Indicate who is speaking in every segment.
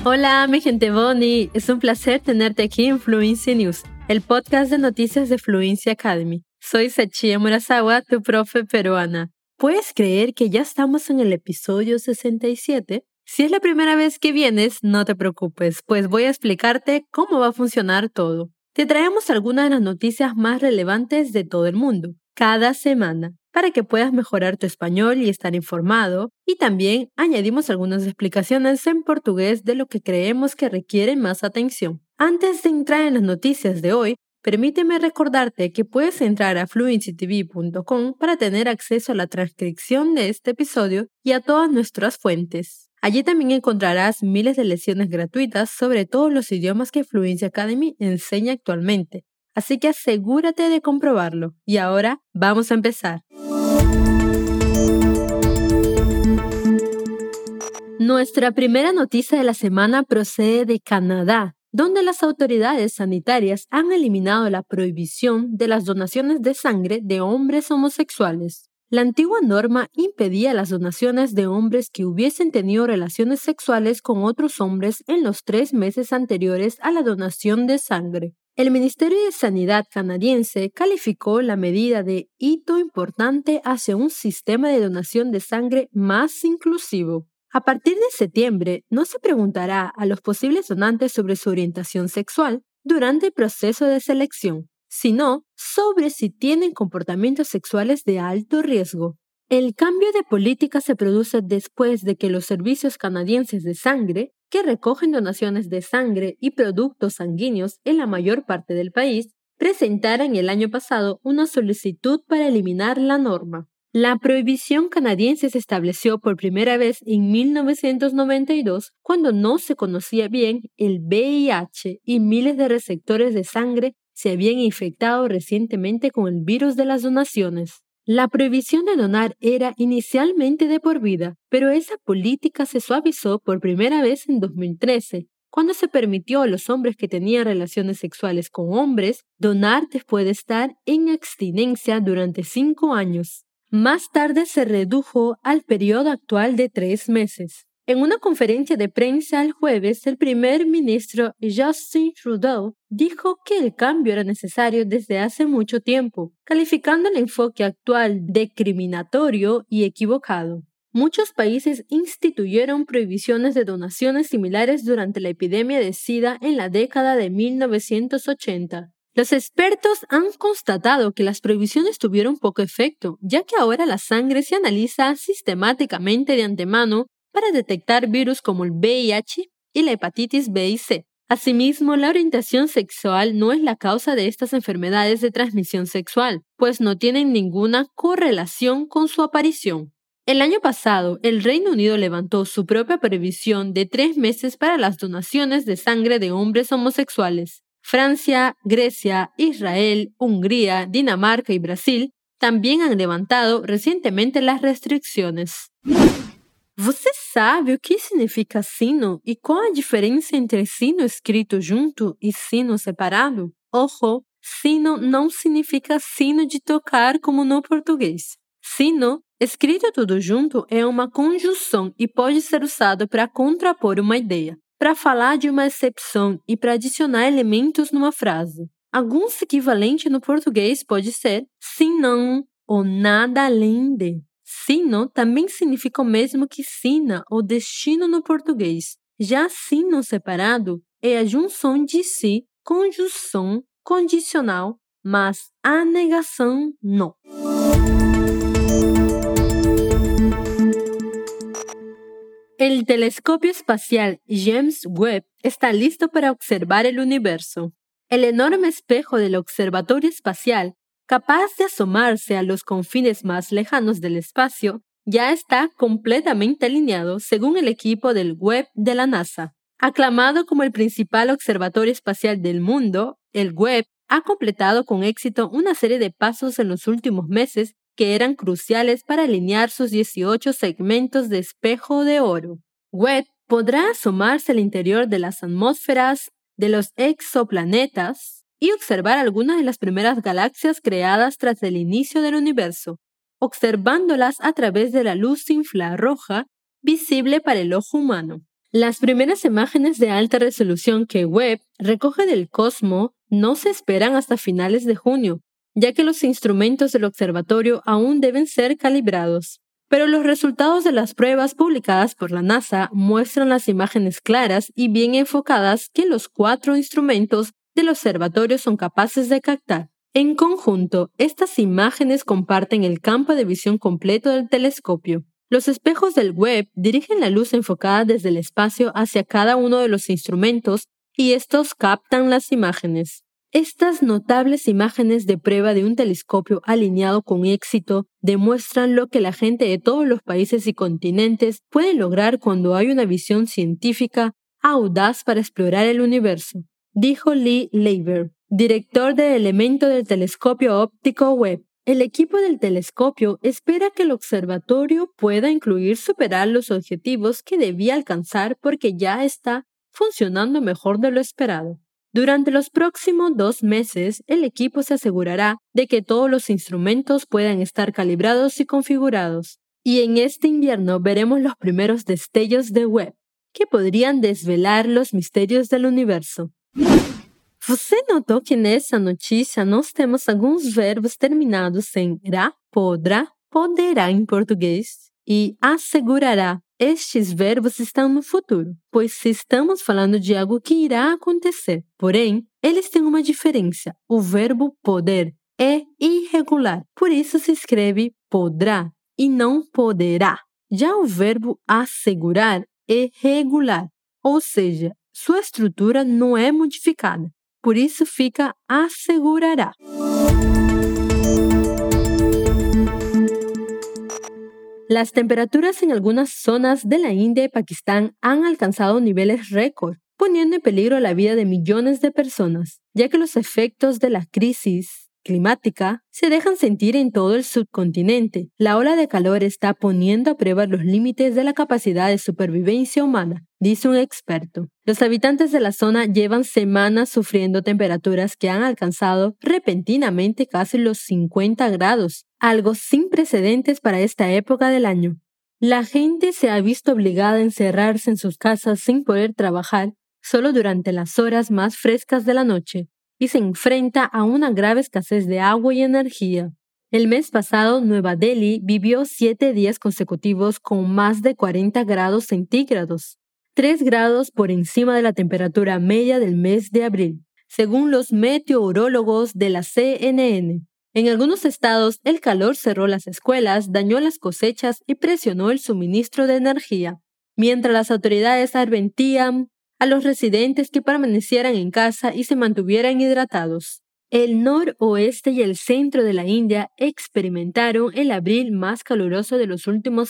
Speaker 1: Hola, mi gente Bonnie. Es un placer tenerte aquí en Fluency News, el podcast de noticias de Fluency Academy. Soy Sachia Murasawa, tu profe peruana. ¿Puedes creer que ya estamos en el episodio 67? Si es la primera vez que vienes, no te preocupes, pues voy a explicarte cómo va a funcionar todo. Te traemos algunas de las noticias más relevantes de todo el mundo, cada semana, para que puedas mejorar tu español y estar informado, y también añadimos algunas explicaciones en portugués de lo que creemos que requiere más atención. Antes de entrar en las noticias de hoy, permíteme recordarte que puedes entrar a fluencytv.com para tener acceso a la transcripción de este episodio y a todas nuestras fuentes. Allí también encontrarás miles de lecciones gratuitas sobre todos los idiomas que Fluency Academy enseña actualmente. Así que asegúrate de comprobarlo. Y ahora vamos a empezar. Nuestra primera noticia de la semana procede de Canadá, donde las autoridades sanitarias han eliminado la prohibición de las donaciones de sangre de hombres homosexuales. La antigua norma impedía las donaciones de hombres que hubiesen tenido relaciones sexuales con otros hombres en los 3 meses anteriores a la donación de sangre. El Ministerio de Sanidad canadiense calificó la medida de hito importante hacia un sistema de donación de sangre más inclusivo. A partir de septiembre, no se preguntará a los posibles donantes sobre su orientación sexual durante el proceso de selección, sino sobre si tienen comportamientos sexuales de alto riesgo. El cambio de política se produce después de que los servicios canadienses de sangre, que recogen donaciones de sangre y productos sanguíneos en la mayor parte del país, presentaran el año pasado una solicitud para eliminar la norma. La prohibición canadiense se estableció por primera vez en 1992, cuando no se conocía bien el VIH y miles de receptores de sangre se habían infectado recientemente con el virus de las donaciones. La prohibición de donar era inicialmente de por vida, pero esa política se suavizó por primera vez en 2013, cuando se permitió a los hombres que tenían relaciones sexuales con hombres donar después de estar en abstinencia durante 5 años. Más tarde se redujo al periodo actual de 3 meses. En una conferencia de prensa el jueves, el primer ministro Justin Trudeau dijo que el cambio era necesario desde hace mucho tiempo, calificando el enfoque actual de discriminatorio y equivocado. Muchos países instituyeron prohibiciones de donaciones similares durante la epidemia de SIDA en la década de 1980. Los expertos han constatado que las prohibiciones tuvieron poco efecto, ya que ahora la sangre se analiza sistemáticamente de antemano para detectar virus como el VIH y la hepatitis B y C. Asimismo, la orientación sexual no es la causa de estas enfermedades de transmisión sexual, pues no tienen ninguna correlación con su aparición. El año pasado, el Reino Unido levantó su propia prohibición de 3 meses para las donaciones de sangre de hombres homosexuales. Francia, Grecia, Israel, Hungría, Dinamarca y Brasil también han levantado recientemente las restricciones. Você sabe o que significa sino e qual a diferença entre sino escrito junto e sino separado? Ojo, sino não significa sino de tocar como no português. Sino, escrito tudo junto, é uma conjunção e pode ser usado para contrapor uma ideia, para falar de uma excepção e para adicionar elementos numa frase. Alguns equivalentes no português pode ser sim, não ou nada além de. Sino também significa o mesmo que sina ou destino no português. Já sino separado é a junção de si, conjunção condicional, mas a negação não. El telescopio espacial James Webb está listo para observar el universo. El enorme espejo del observatorio espacial, capaz de asomarse a los confines más lejanos del espacio, ya está completamente alineado según el equipo del Webb de la NASA. Aclamado como el principal observatorio espacial del mundo, el Webb ha completado con éxito una serie de pasos en los últimos meses que eran cruciales para alinear sus 18 segmentos de espejo de oro. Webb podrá asomarse al interior de las atmósferas de los exoplanetas y observar algunas de las primeras galaxias creadas tras el inicio del universo, observándolas a través de la luz infrarroja visible para el ojo humano. Las primeras imágenes de alta resolución que Webb recoge del cosmos no se esperan hasta finales de junio, ya que los instrumentos del observatorio aún deben ser calibrados. Pero los resultados de las pruebas publicadas por la NASA muestran las imágenes claras y bien enfocadas que los 4 instrumentos del observatorio son capaces de captar. En conjunto, estas imágenes comparten el campo de visión completo del telescopio. Los espejos del Webb dirigen la luz enfocada desde el espacio hacia cada uno de los instrumentos y estos captan las imágenes. Estas notables imágenes de prueba de un telescopio alineado con éxito demuestran lo que la gente de todos los países y continentes puede lograr cuando hay una visión científica audaz para explorar el universo, dijo Lee Leiber, director de elemento del telescopio óptico Webb. El equipo del telescopio espera que el observatorio pueda incluir superar los objetivos que debía alcanzar porque ya está funcionando mejor de lo esperado. Durante los próximos 2 meses, el equipo se asegurará de que todos los instrumentos puedan estar calibrados y configurados. Y en este invierno veremos los primeros destellos de Webb, que podrían desvelar los misterios del universo. Você notou que nessa notícia nós temos alguns verbos terminados em ra, podrá, poderá em português e assegurará. Estes verbos estão no futuro, pois se estamos falando de algo que irá acontecer. Porém, eles têm uma diferença. O verbo poder é irregular, por isso se escreve podrá e não poderá. Já o verbo assegurar é regular, ou seja, sua estrutura não é modificada. Por isso fica assegurará. Las temperaturas en algunas zonas de la India y Pakistán han alcanzado niveles récord, poniendo en peligro la vida de millones de personas, ya que los efectos de la crisis climática se dejan sentir en todo el subcontinente. La ola de calor está poniendo a prueba los límites de la capacidad de supervivencia humana, dice un experto. Los habitantes de la zona llevan semanas sufriendo temperaturas que han alcanzado repentinamente casi los 50 grados, algo sin precedentes para esta época del año. La gente se ha visto obligada a encerrarse en sus casas sin poder trabajar solo durante las horas más frescas de la noche y se enfrenta a una grave escasez de agua y energía. El mes pasado, Nueva Delhi vivió 7 días consecutivos con más de 40 grados centígrados, 3 grados por encima de la temperatura media del mes de abril, según los meteorólogos de la CNN. En algunos estados, el calor cerró las escuelas, dañó las cosechas y presionó el suministro de energía, mientras las autoridades advertían a los residentes que permanecieran en casa y se mantuvieran hidratados. El noroeste y el centro de la India experimentaron el abril más caluroso de los últimos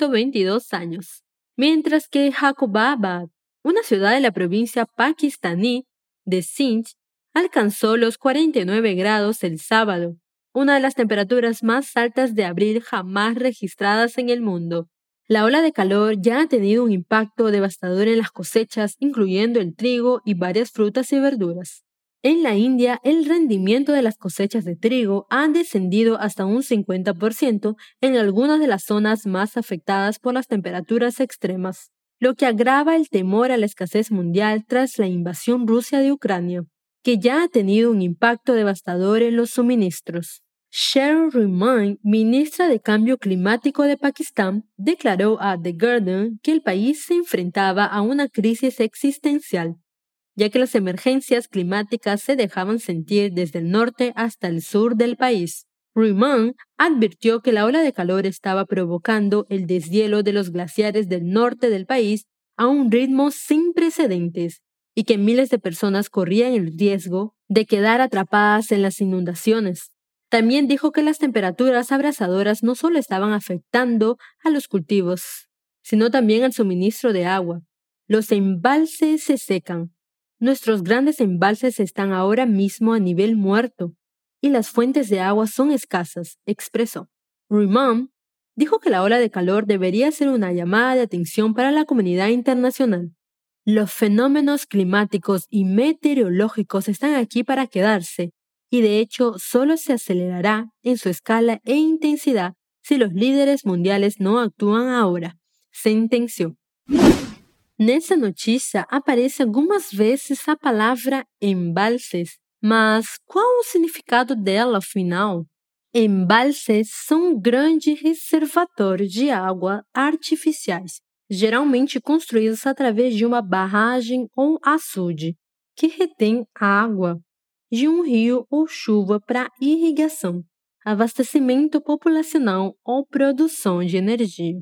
Speaker 1: 122 años, mientras que Jacobabad, una ciudad de la provincia pakistaní de Sindh, alcanzó los 49 grados el sábado, una de las temperaturas más altas de abril jamás registradas en el mundo. La ola de calor ya ha tenido un impacto devastador en las cosechas, incluyendo el trigo y varias frutas y verduras. En la India, el rendimiento de las cosechas de trigo ha descendido hasta un 50% en algunas de las zonas más afectadas por las temperaturas extremas, lo que agrava el temor a la escasez mundial tras la invasión rusa de Ucrania, que ya ha tenido un impacto devastador en los suministros. Sheryl Rahman, ministra de Cambio Climático de Pakistán, declaró a The Guardian que el país se enfrentaba a una crisis existencial, ya que las emergencias climáticas se dejaban sentir desde el norte hasta el sur del país. Rahman advirtió que la ola de calor estaba provocando el deshielo de los glaciares del norte del país a un ritmo sin precedentes y que miles de personas corrían el riesgo de quedar atrapadas en las inundaciones. También dijo que las temperaturas abrasadoras no solo estaban afectando a los cultivos, sino también al suministro de agua. Los embalses se secan. Nuestros grandes embalses están ahora mismo a nivel muerto y las fuentes de agua son escasas, expresó. Rahman dijo que la ola de calor debería ser una llamada de atención para la comunidad internacional. Los fenómenos climáticos y meteorológicos están aquí para quedarse y de hecho solo se acelerará en su escala e intensidad si los líderes mundiales no actúan ahora, sentenció. Nessa notícia aparece algumas vezes a palavra embalses, mas qual o significado dela afinal? Embalses são grandes reservatórios de água artificiais, geralmente construídos através de uma barragem ou açude, que retém a água de um rio ou chuva para irrigação, abastecimento populacional ou produção de energia.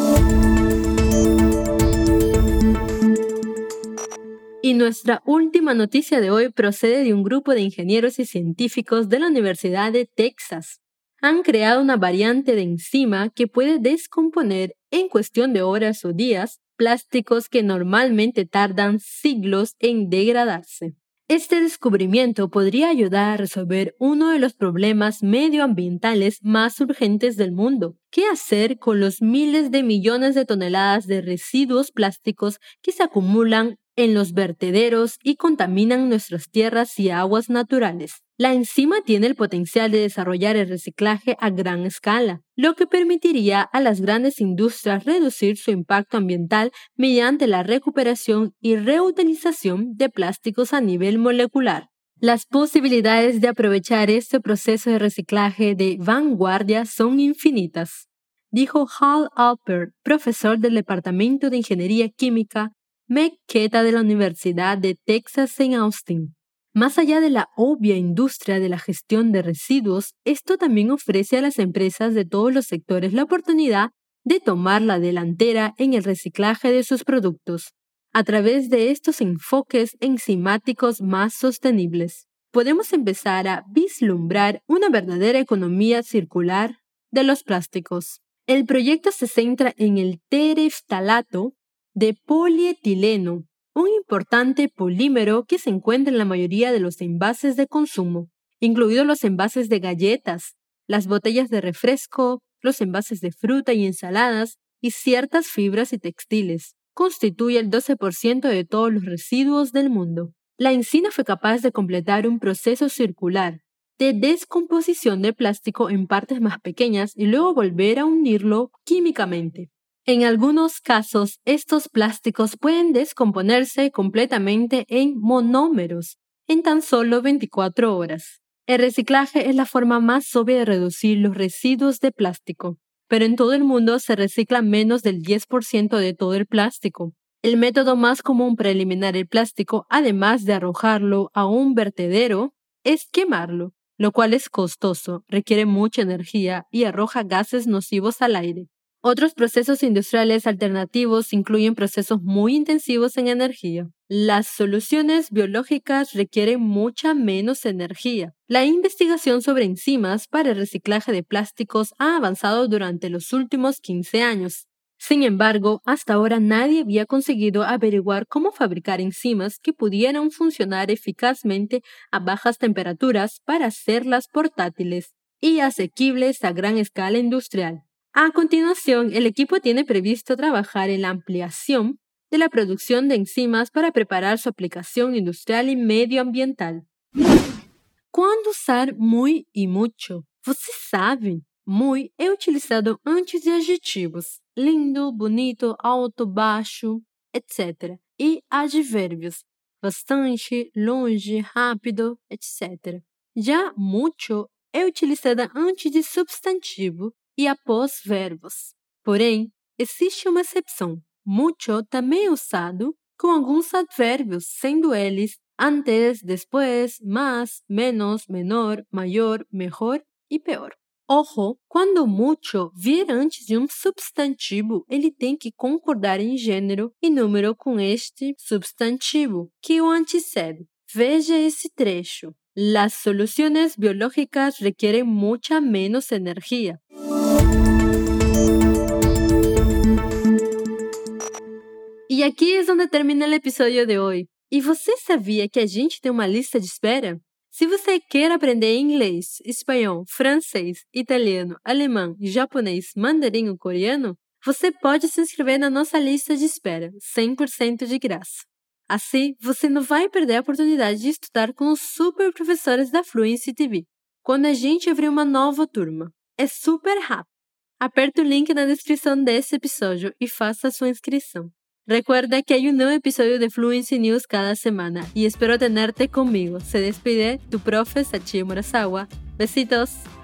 Speaker 1: Y nuestra última noticia de hoy procede de un grupo de ingenieros y científicos de la Universidad de Texas. Han creado una variante de enzima que puede descomponer en cuestión de horas o días plásticos que normalmente tardan siglos en degradarse. Este descubrimiento podría ayudar a resolver uno de los problemas medioambientales más urgentes del mundo. ¿Qué hacer con los miles de millones de toneladas de residuos plásticos que se acumulan en los vertederos y contaminan nuestras tierras y aguas naturales? La enzima tiene el potencial de desarrollar el reciclaje a gran escala, lo que permitiría a las grandes industrias reducir su impacto ambiental mediante la recuperación y reutilización de plásticos a nivel molecular. Las posibilidades de aprovechar este proceso de reciclaje de vanguardia son infinitas, dijo Hal Alpert, profesor del Departamento de Ingeniería Química McKetta de la Universidad de Texas en Austin. Más allá de la obvia industria de la gestión de residuos, esto también ofrece a las empresas de todos los sectores la oportunidad de tomar la delantera en el reciclaje de sus productos, a través de estos enfoques enzimáticos más sostenibles. Podemos empezar a vislumbrar una verdadera economía circular de los plásticos. El proyecto se centra en el tereftalato de polietileno, un importante polímero que se encuentra en la mayoría de los envases de consumo, incluidos los envases de galletas, las botellas de refresco, los envases de fruta y ensaladas y ciertas fibras y textiles. Constituye el 12% de todos los residuos del mundo. La enzima fue capaz de completar un proceso circular de descomposición de plástico en partes más pequeñas y luego volver a unirlo químicamente. En algunos casos, estos plásticos pueden descomponerse completamente en monómeros en tan solo 24 horas. El reciclaje es la forma más obvia de reducir los residuos de plástico, pero en todo el mundo se recicla menos del 10% de todo el plástico. El método más común para eliminar el plástico, además de arrojarlo a un vertedero, es quemarlo, lo cual es costoso, requiere mucha energía y arroja gases nocivos al aire. Otros procesos industriales alternativos incluyen procesos muy intensivos en energía. Las soluciones biológicas requieren mucha menos energía. La investigación sobre enzimas para el reciclaje de plásticos ha avanzado durante los últimos 15 años. Sin embargo, hasta ahora nadie había conseguido averiguar cómo fabricar enzimas que pudieran funcionar eficazmente a bajas temperaturas para hacerlas portátiles y asequibles a gran escala industrial. A continuación, el equipo tiene previsto trabajar en la ampliación de la producción de enzimas para preparar su aplicación industrial y medioambiental. Quando usar muy e mucho? Você sabe? Muy é utilizado antes de adjetivos, lindo, bonito, alto, baixo, etc. E advérbios, bastante, longe, rápido, etc. Já mucho é utilizada antes de substantivo e após verbos. Porém, existe uma exceção. Mucho também é usado com alguns advérbios, sendo eles antes, después, más, menos, menor, mayor, mejor e peor. Ojo, quando mucho vier antes de um substantivo, ele tem que concordar em gênero e número com este substantivo que o antecede. Veja esse trecho. Las soluciones biológicas requieren mucha menos energía. E aqui é onde termina o episódio de hoje. E você sabia que a gente tem uma lista de espera? Se você quer aprender inglês, espanhol, francês, italiano, alemão, japonês, mandarim ou coreano, você pode se inscrever na nossa lista de espera, 100% de graça. Assim, você não vai perder a oportunidade de estudar com os super professores da Fluency TV, quando a gente abrir uma nova turma. É super rápido. Aperte o link na descrição desse episódio e faça a sua inscrição. Recuerda que hay un nuevo episodio de Fluency News cada semana y espero tenerte conmigo. Se despide tu profe Sachio Murasawa. Besitos.